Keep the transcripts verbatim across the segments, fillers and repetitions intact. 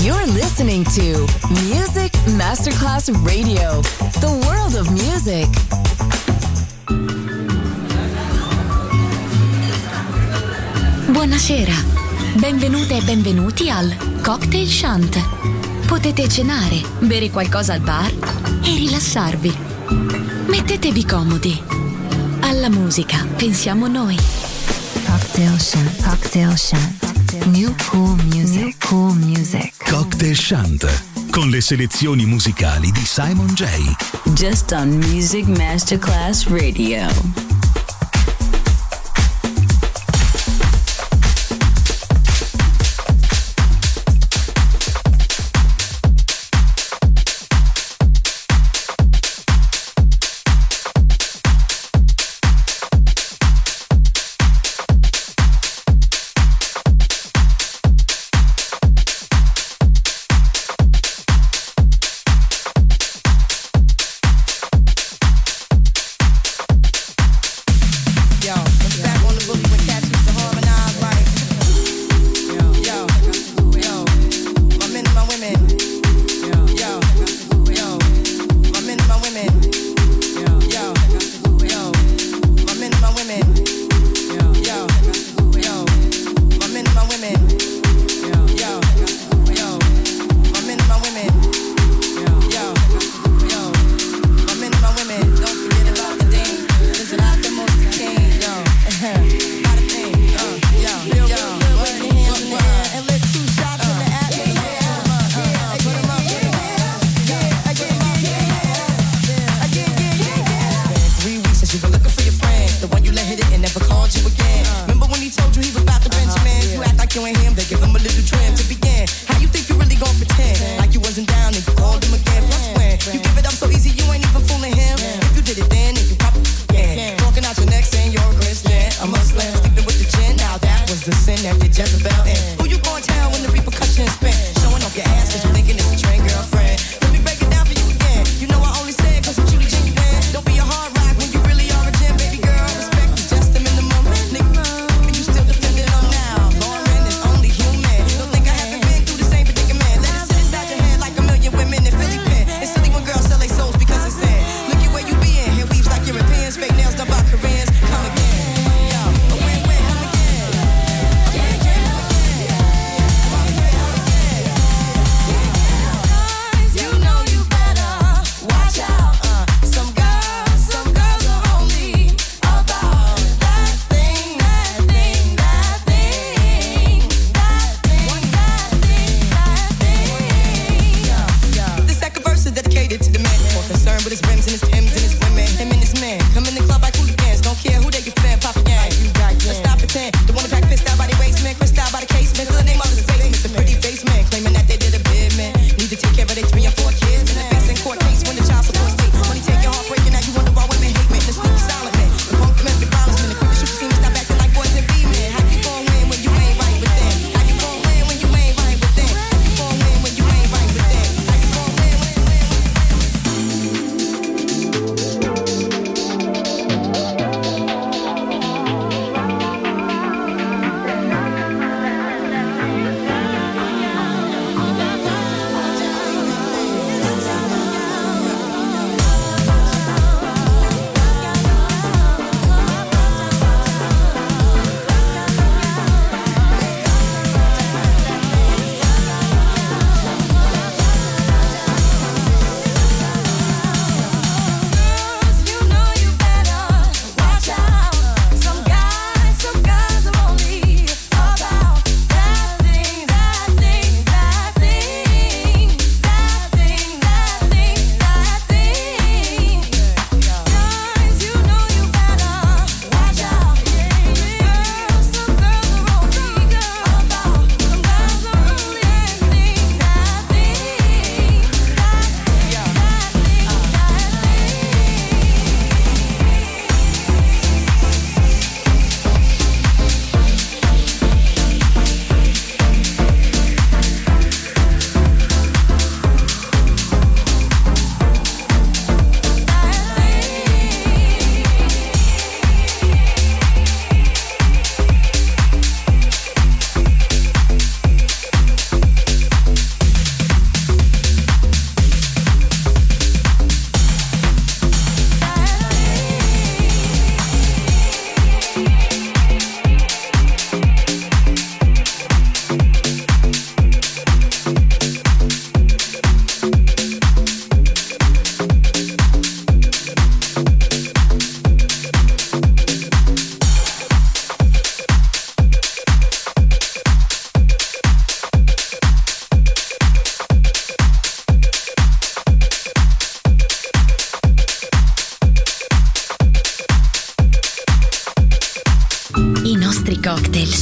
You're listening to Music Masterclass Radio, the world of music. Buonasera, benvenute e benvenuti al Cocktail Shant. Potete cenare, bere qualcosa al bar e rilassarvi. Mettetevi comodi. Alla musica pensiamo noi. Cocktail Shant, Cocktail Shant. New cool music, New cool music. Cocktail Shant, con le selezioni musicali di Simon J. Just on Music Masterclass Radio.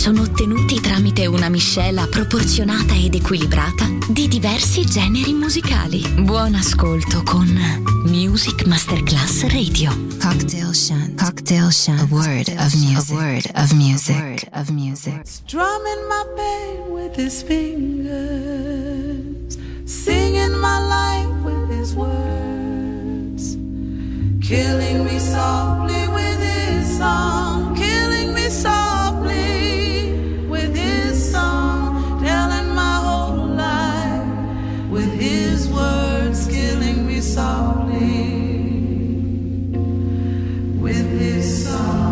sono ottenuti tramite una miscela proporzionata ed equilibrata di diversi generi musicali. Buon ascolto con Music Masterclass Radio. Cocktail Shant. Cocktail Shant. A word of music. A word of music. A word of music. Strumming my pain with his fingers, singing my life with his words, killing me softly with his song, killing me softly with his song, telling my whole life with his words, killing me softly with his song.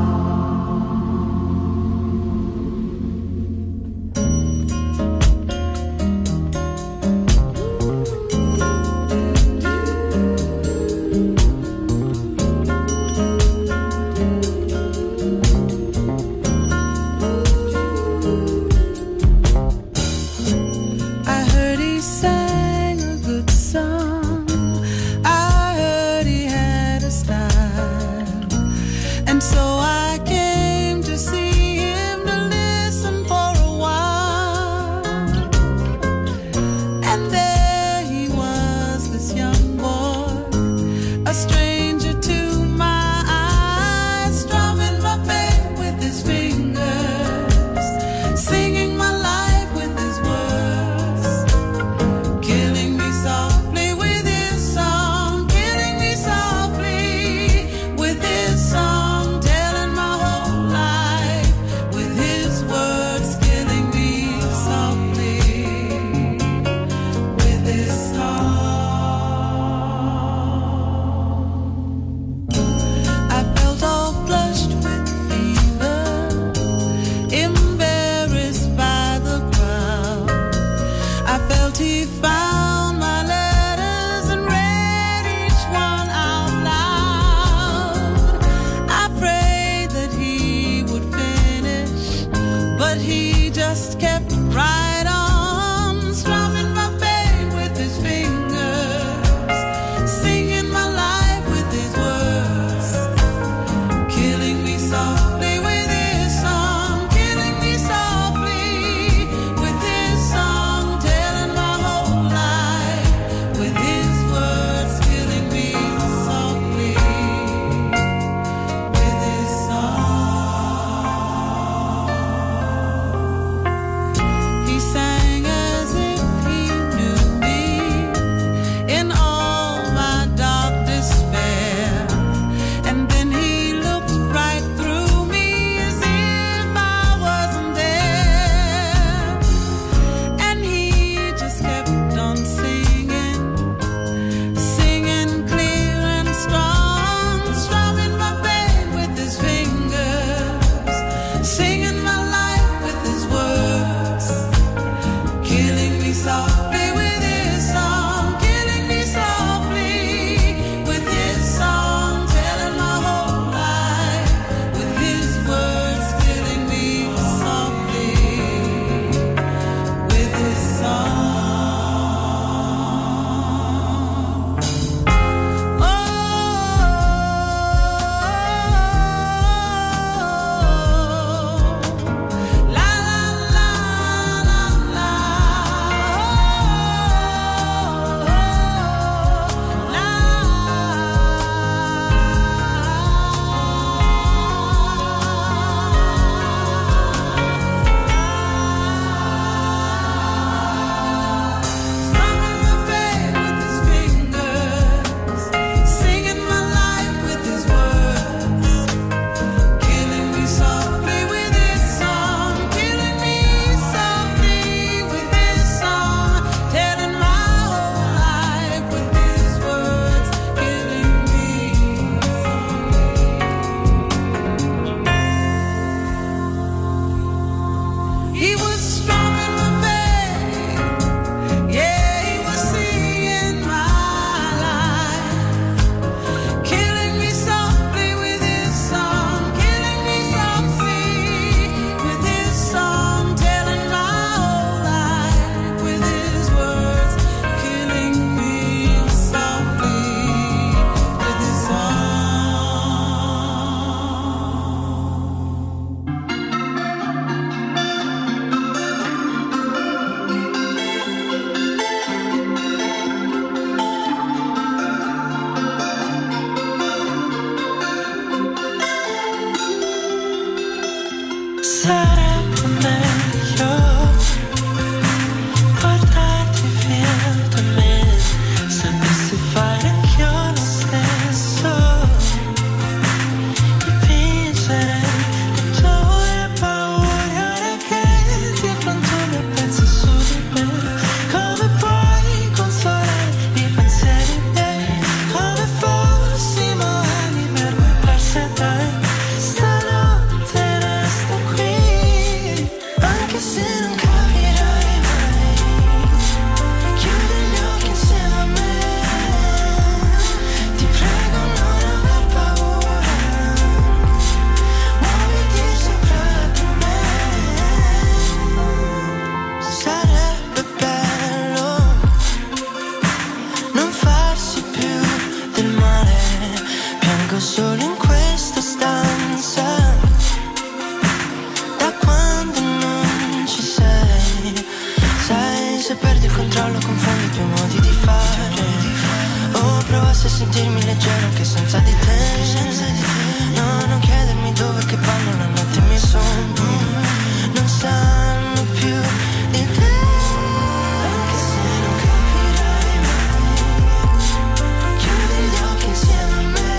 se perdi il controllo confondi i tuoi modi di fare. Oh, provassi a sentirmi leggero anche senza di te. No, non chiedermi dove che vanno la notte i miei sogni. Non sanno più di te. Anche se non capirai mai, chiudi gli occhi insieme a me.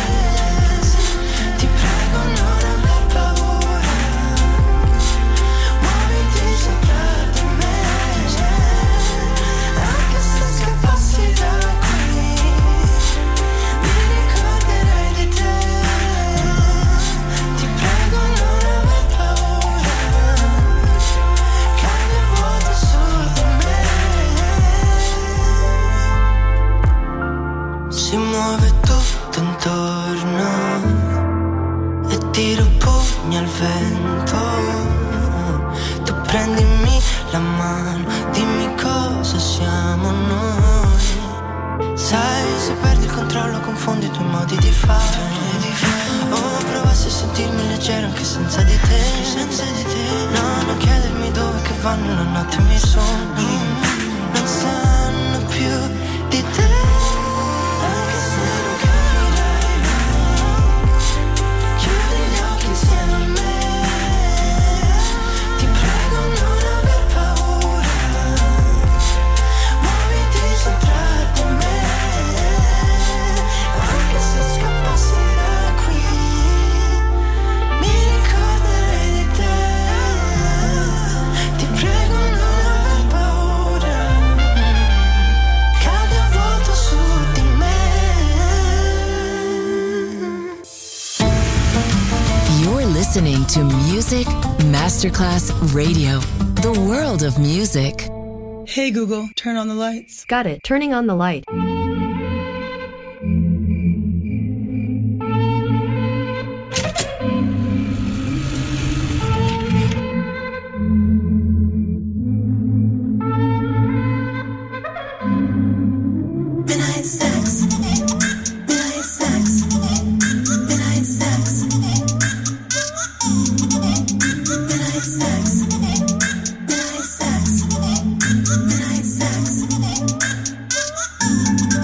Ti prego non aver paura, muoviti sopra di me. Anche se scappassi da qui, mi ricorderai di te. Ti prego non aver paura, cade il vuoto su di me. Si muove tutto intorno e tiro pugni al vento. Tu prendimi la mano, dimmi cosa siamo noi. Sai, se perdi il controllo confondi i tuoi modi di fare. Oh, provassi a sentirmi leggero anche senza di te. Senza di te. No, non chiedermi dove che vanno la notte i miei sogni. Non sanno più di te. Anche se non capirai mai, chiudi gli occhi insieme a me. Ti prego non aver paura, muoviti sopra di me. Anche se scappassi da qui, mi ricorderei di te. Ti prego non aver paura, cade a vuoto su di me. You're listening to Music Masterclass Radio, the world of music. Hey Google, turn on the lights. Got it. Turning on the light. Midnight sex, midnight sex, midnight sex, midnight sex, midnight sex, midnight sex.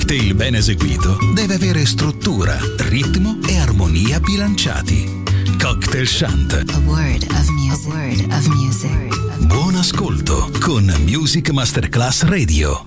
cocktail ben eseguito deve avere struttura, ritmo e armonia bilanciati. Cocktail Chant. A word of music. A word of music. Buon ascolto con Music Masterclass Radio.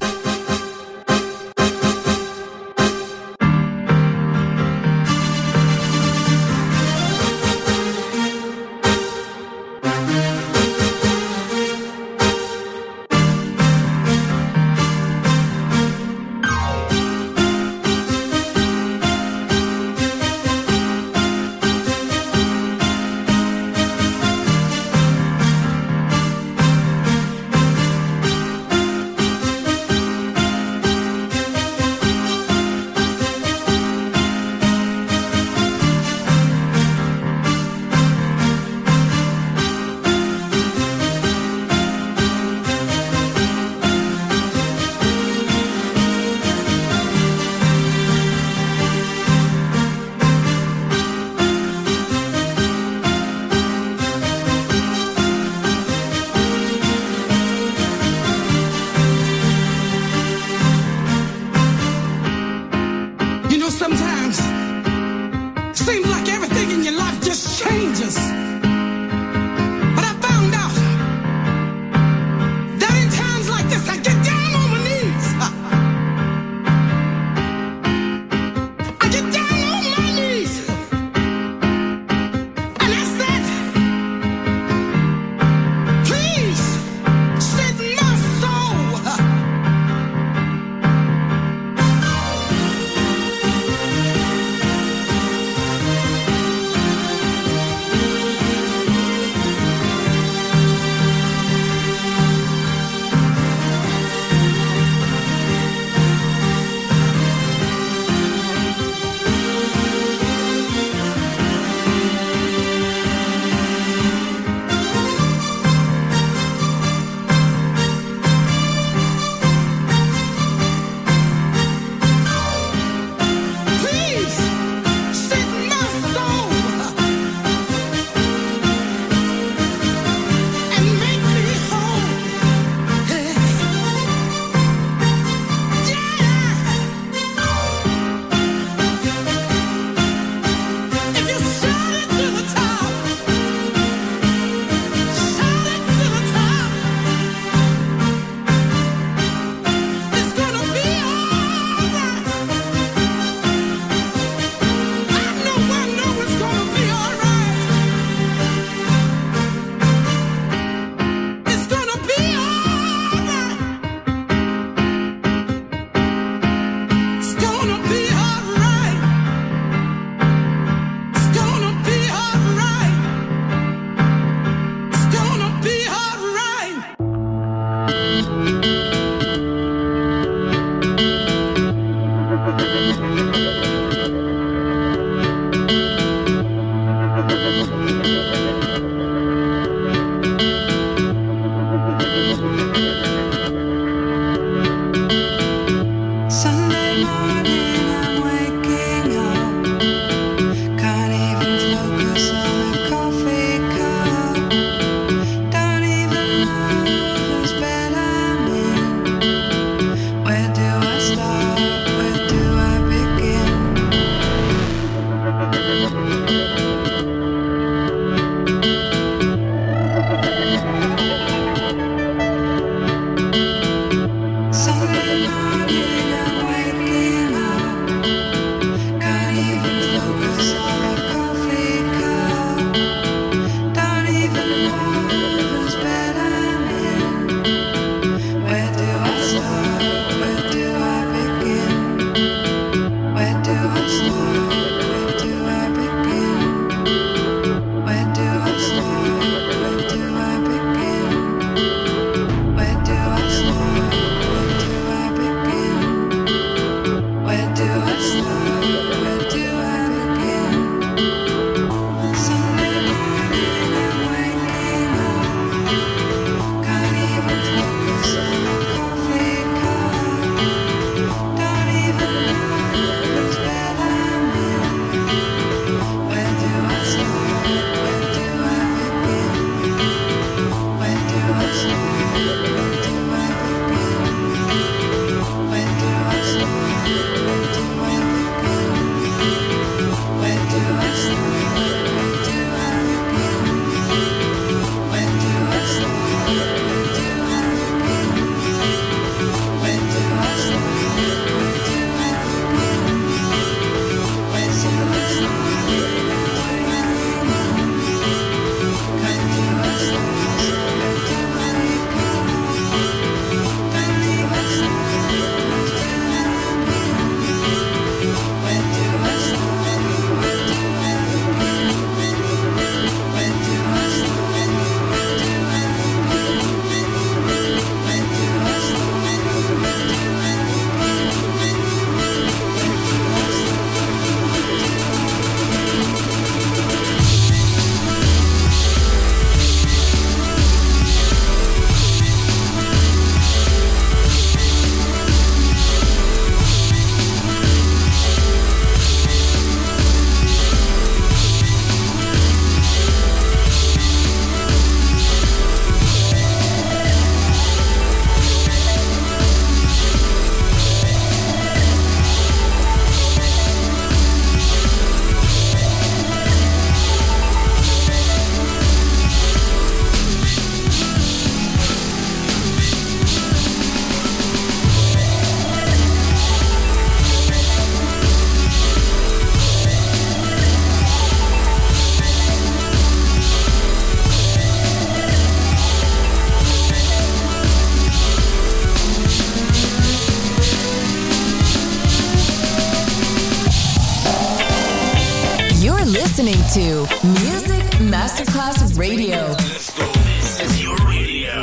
listening to Music Masterclass Radio. Let's go. This is your radio.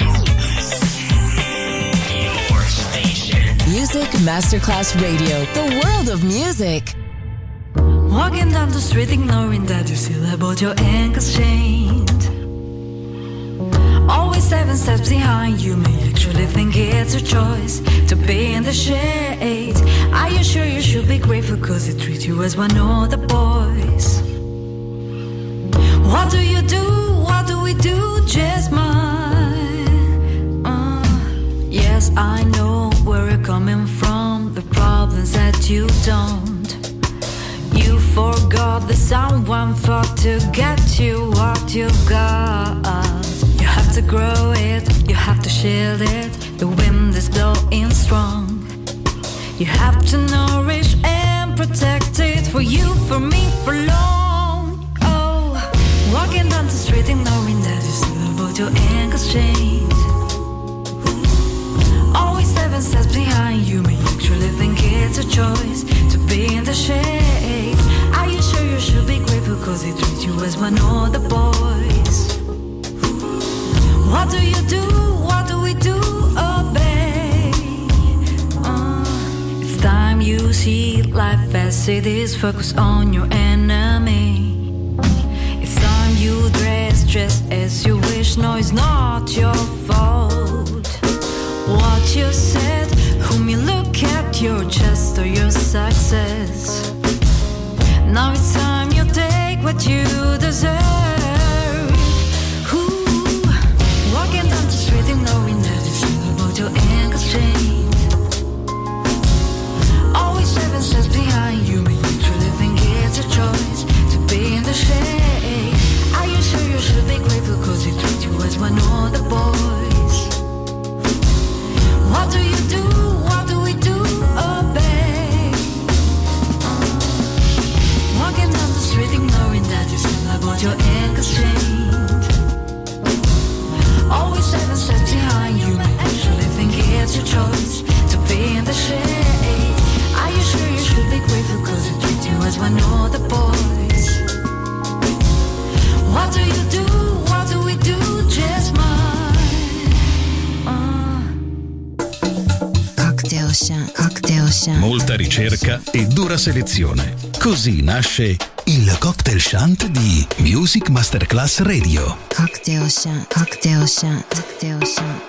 Your station. Music Masterclass Radio. The world of music. Walking down the street ignoring that you still have both your ankles chained. Always seven steps behind you may actually think it's a choice to be in the shade. Are you sure you should be grateful cause they treat you as one of the boys? What do you do? What do we do? Just mine. Uh, yes, I know where you're coming from. The problems that you don't. You forgot that someone fought to get you what you got. You have to grow it, you have to shield it. The wind is blowing strong. You have to nourish and protect it. For you, for me, for long. Oh, walking down the street ignoring that you still have both your ankles chained. Always seven steps behind you may actually think it's a choice to be in the shade. Are you sure you should be grateful cause they treat you as one of the boys? What do you do? What do we do? Obey. Uh, it's time you see life as it is. Focus on your enemy. It's time you dress just as you wish. No, it's not your fault. What you said, whom you look at, your chest or your success. Now it's time you take what you deserve. Ooh, walking down the street and knowing that it's all about your ankles chained. Always seven steps behind you, but you truly think it's a choice to be in the shade. Are you sure you should be grateful cause they treat you as one of the boys? What do you do? What do we do? Obey. Uh, walking down the street ignoring that you still about your ankles chained. Always seven steps behind you, but actually think it's your choice to be in the shade. Are you sure you should be grateful cause they treat you as one of the boys? What do you do? What do we do? Just mine. Uh. Cocktail Chant, Cocktail Chant. Molta ricerca e dura selezione. Così nasce il Cocktail Chant di Music Masterclass Radio. Cocktail Chant, Cocktail Chant, Cocktail Chant.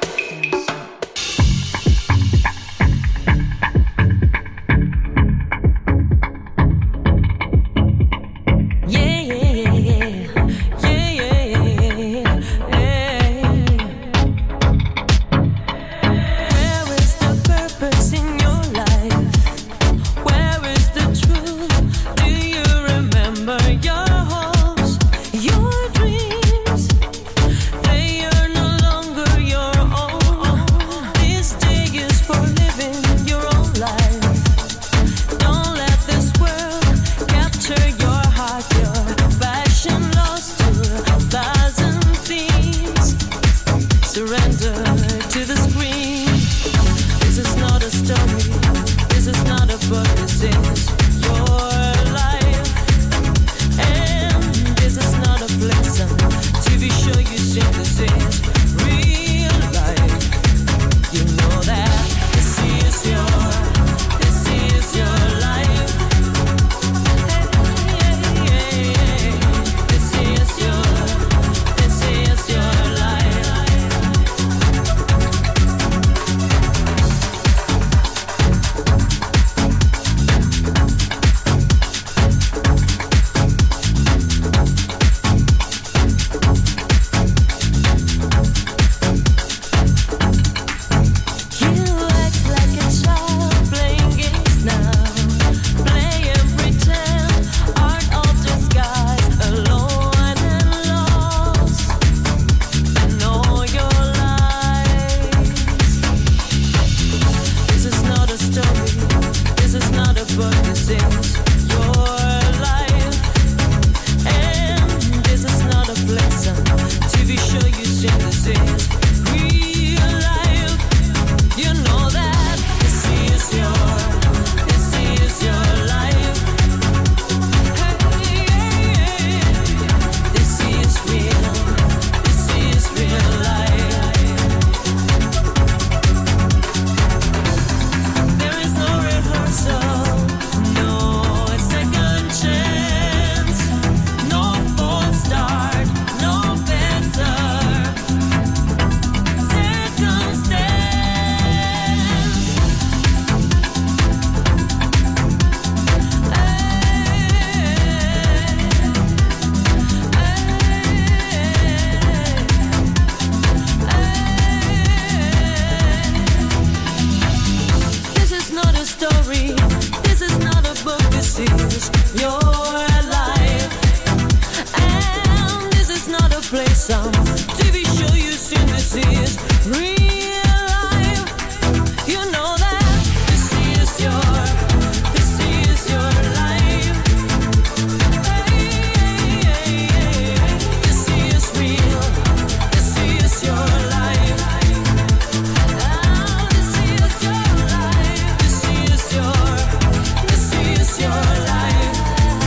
story. This is not a book, this is your life. And this is not a play, some T V show you seen. This is real life. You know that this is your, this is your life. Hey, hey, hey, hey. This is real. This is your life. Ah, this is your life. This is your, this is your life.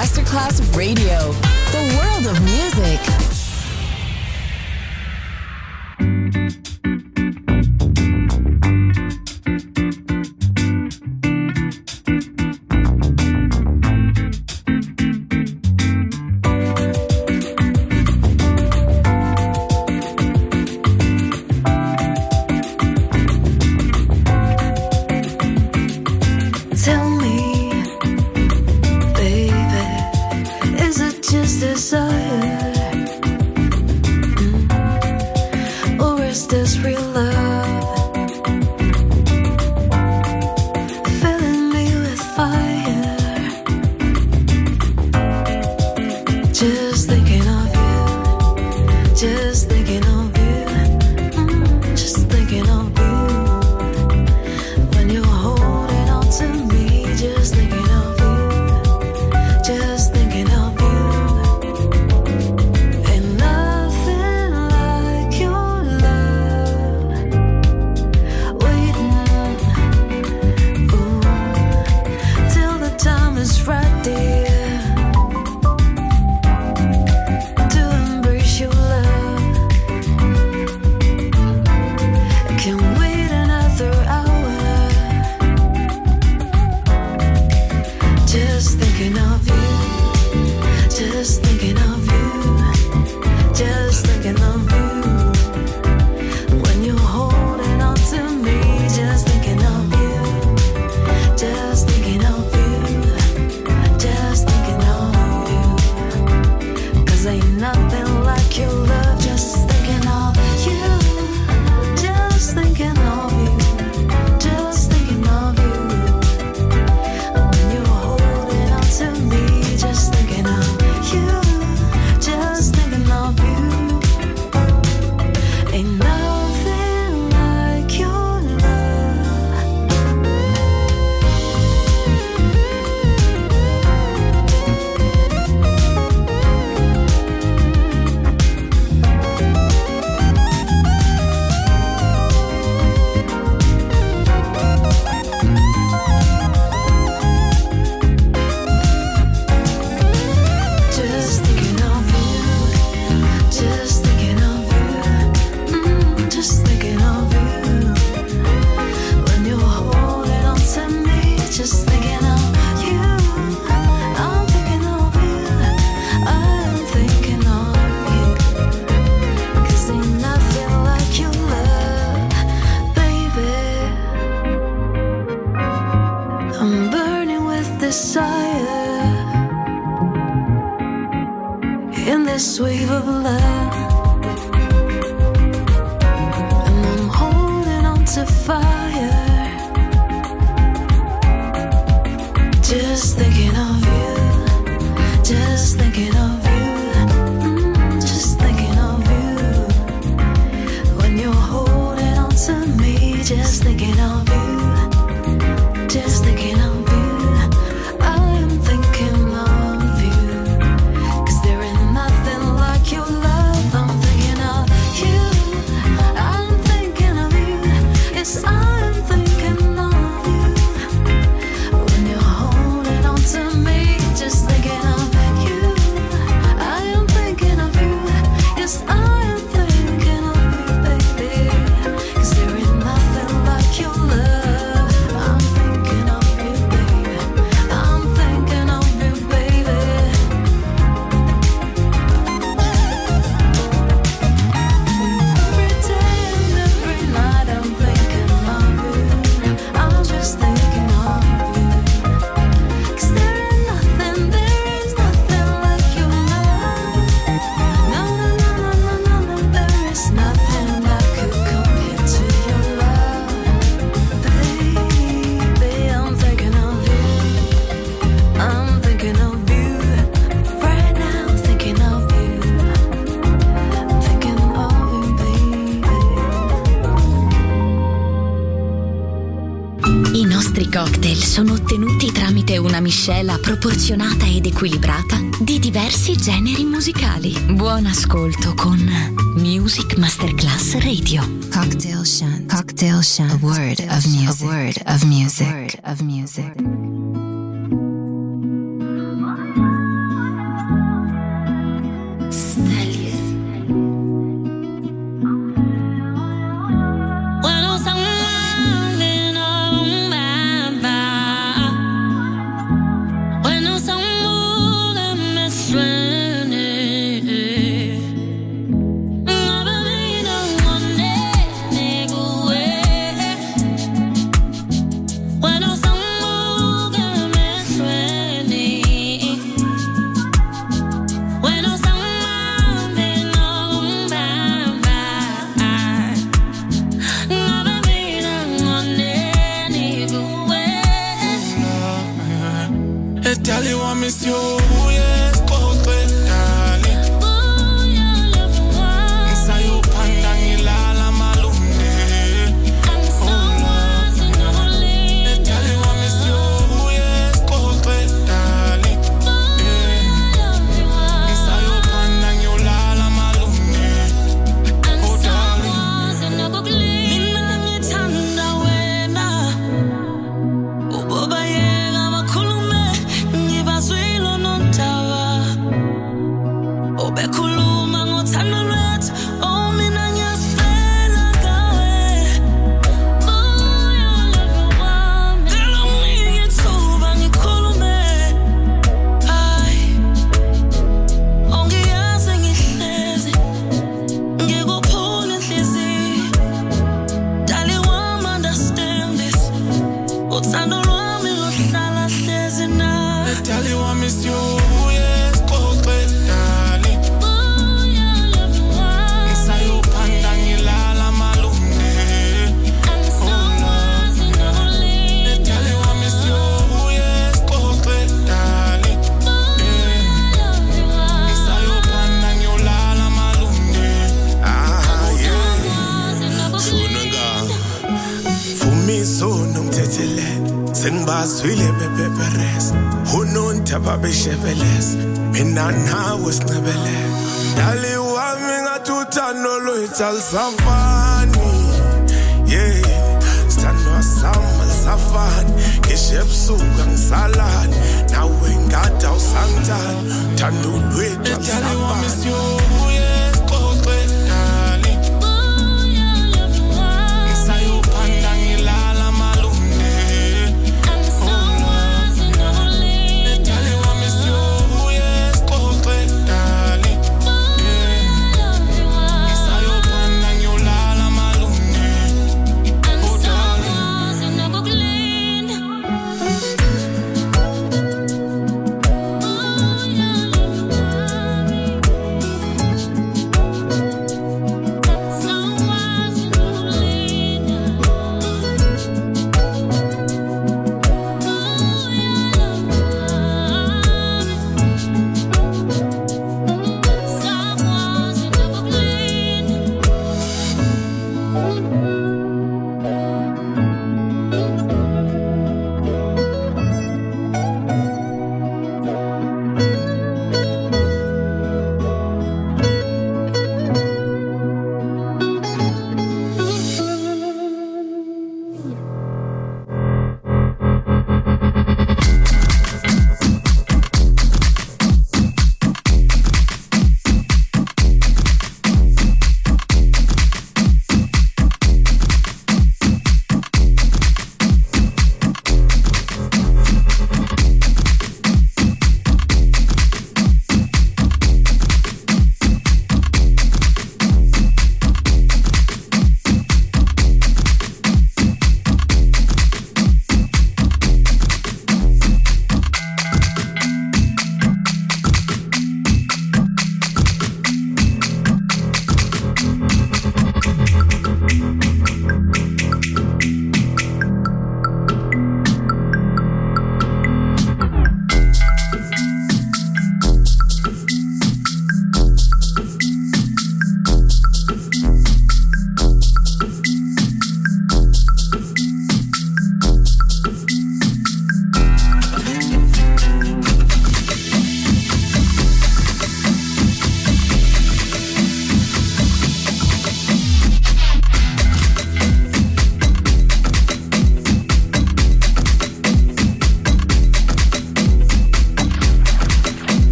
Masterclass Radio, the world of music. Sono ottenuti tramite una miscela proporzionata ed equilibrata di diversi generi musicali. Buon ascolto con Music Masterclass Radio. Cocktail Shant. Cocktail Shant. A word of music. A word of music. A word of music. Senibazwile bebeberes unontaba beshebeles mina nawe sinebeleka dali wami ngatuthando lwethu alisafani yeah sithandwa sama lisafani ngisho ebusuku ngisalani nawe ngada usangithanda thando lwethu alisafani Me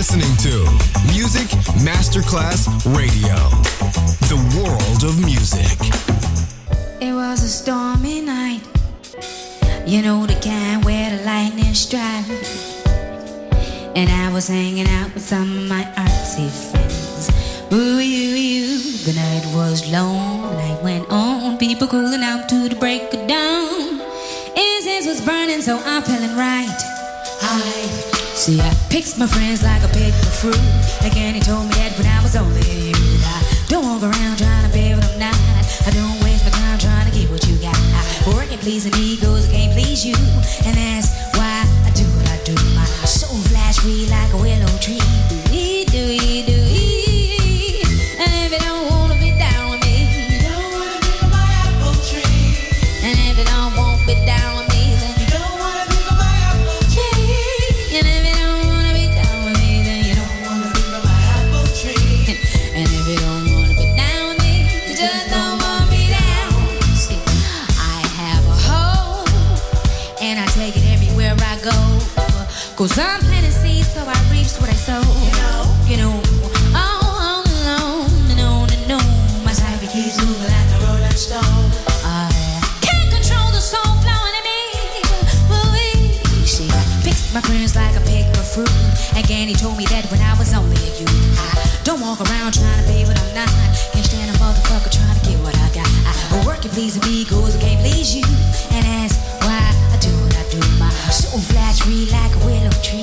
listening to Music Masterclass Radio, the world of music. It was a stormy night, you know the kind where the lightning strikes. And I was hanging out with some of my artsy friends. Ooh, you, you. The night was long, the night went on. People cooling out to the break of dawn. Incense was burning, so I'm feeling right. I see, I picked my friends like I picked the fruit. Again, he told me that when I was only a youth. I don't walk around trying to be what I'm not. I don't waste my time trying to get what you got. I work and pleasing egos, I can't please you. And that's why I do what I do. My soul flash free like a willow tree. Do-ee, do-ee, do-ee. And if you don't wanna be down with me, you don't wanna be my apple tree. And if you don't want to be down with me, then you don't wanna be my apple tree. And if you don't wanna be down with me, then you don't wanna be my apple tree. And if you don't wanna be down with me, you just don't want me down. See, I have a hoe, and I take it everywhere I go. Cause I'm planting seeds, so I reap what I sow. You know, you know, oh, oh, no, no, no, no. My cypher keeps moving like a rolling stone. I can't control the soul flowing in me. Ooh, see, I picked my friends like I pick a fruit. Again, he told me that when I was only a youth. I don't walk around trying to be what I'm not. Can't stand a motherfucker trying to get what I got. I work and please me, cause I can't please you. And that's why I do what I do. My soul flash free like a willow tree.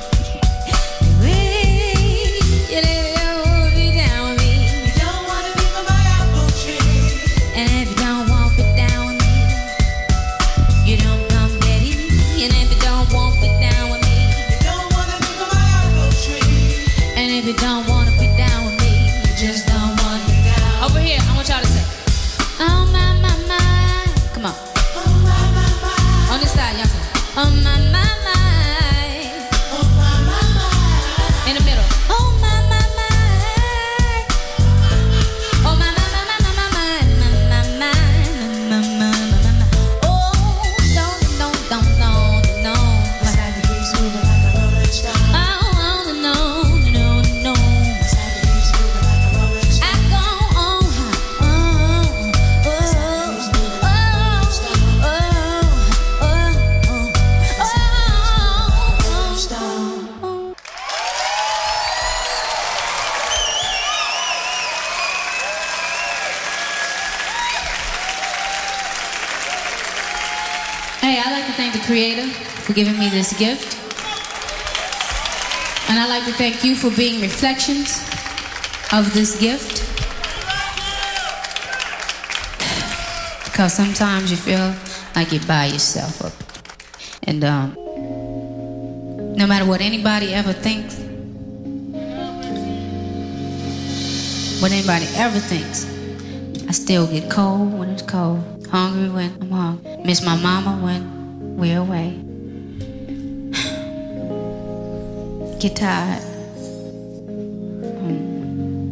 You don't wanna be down with me. You don't wanna be my apple tree. And if you don't want to be down with me, you don't come ready. And if you don't want to be down with me, you don't wanna be my apple tree. And if you don't wanna be down with me, you just don't wanna be down. Over here, I want y'all to say, oh my, my, my. Come on. Oh my, my, my. On this side, y'all say, oh my, my, my. Oh my, my, my. In the middle. Oh my, my, my. Oh my, my, my, my, my, my, my, my, my, my, my, my, my. Oh, don't, don't, don't, don't, don't. My cypher keeps moving like a rolling stone. Oh, no, no, no. My cypher keeps moving like a rolling stone. I go on, oh, oh, oh, oh, oh, oh, oh, oh. Hey, I'd like to thank the Creator for giving me this gift. And I'd like to thank you for being reflections of this gift. Because sometimes you feel like you're by yourself up. And um, no matter what anybody ever thinks, what anybody ever thinks, I still get cold when it's cold, hungry when I'm hungry, miss my mama when we're away, get tired. Hmm.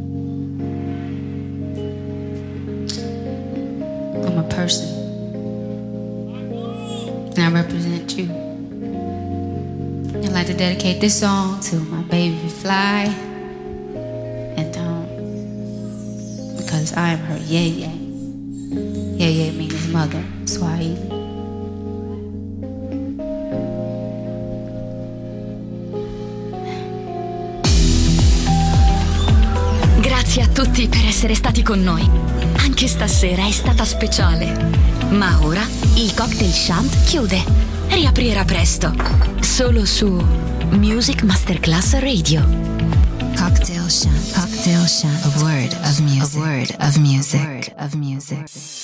I'm a person, and I represent you. I'd like to dedicate this song to my baby Fly, and um, because I am her Yeye. Yeye means mother, Swahili. Grazie a tutti per essere stati con noi. Anche stasera è stata speciale. Ma ora il Cocktail Shant chiude. Riaprirà presto. Solo su Music Masterclass Radio. Cocktail Shant. Cocktail Shant. A word of music. A word of music. A word of music.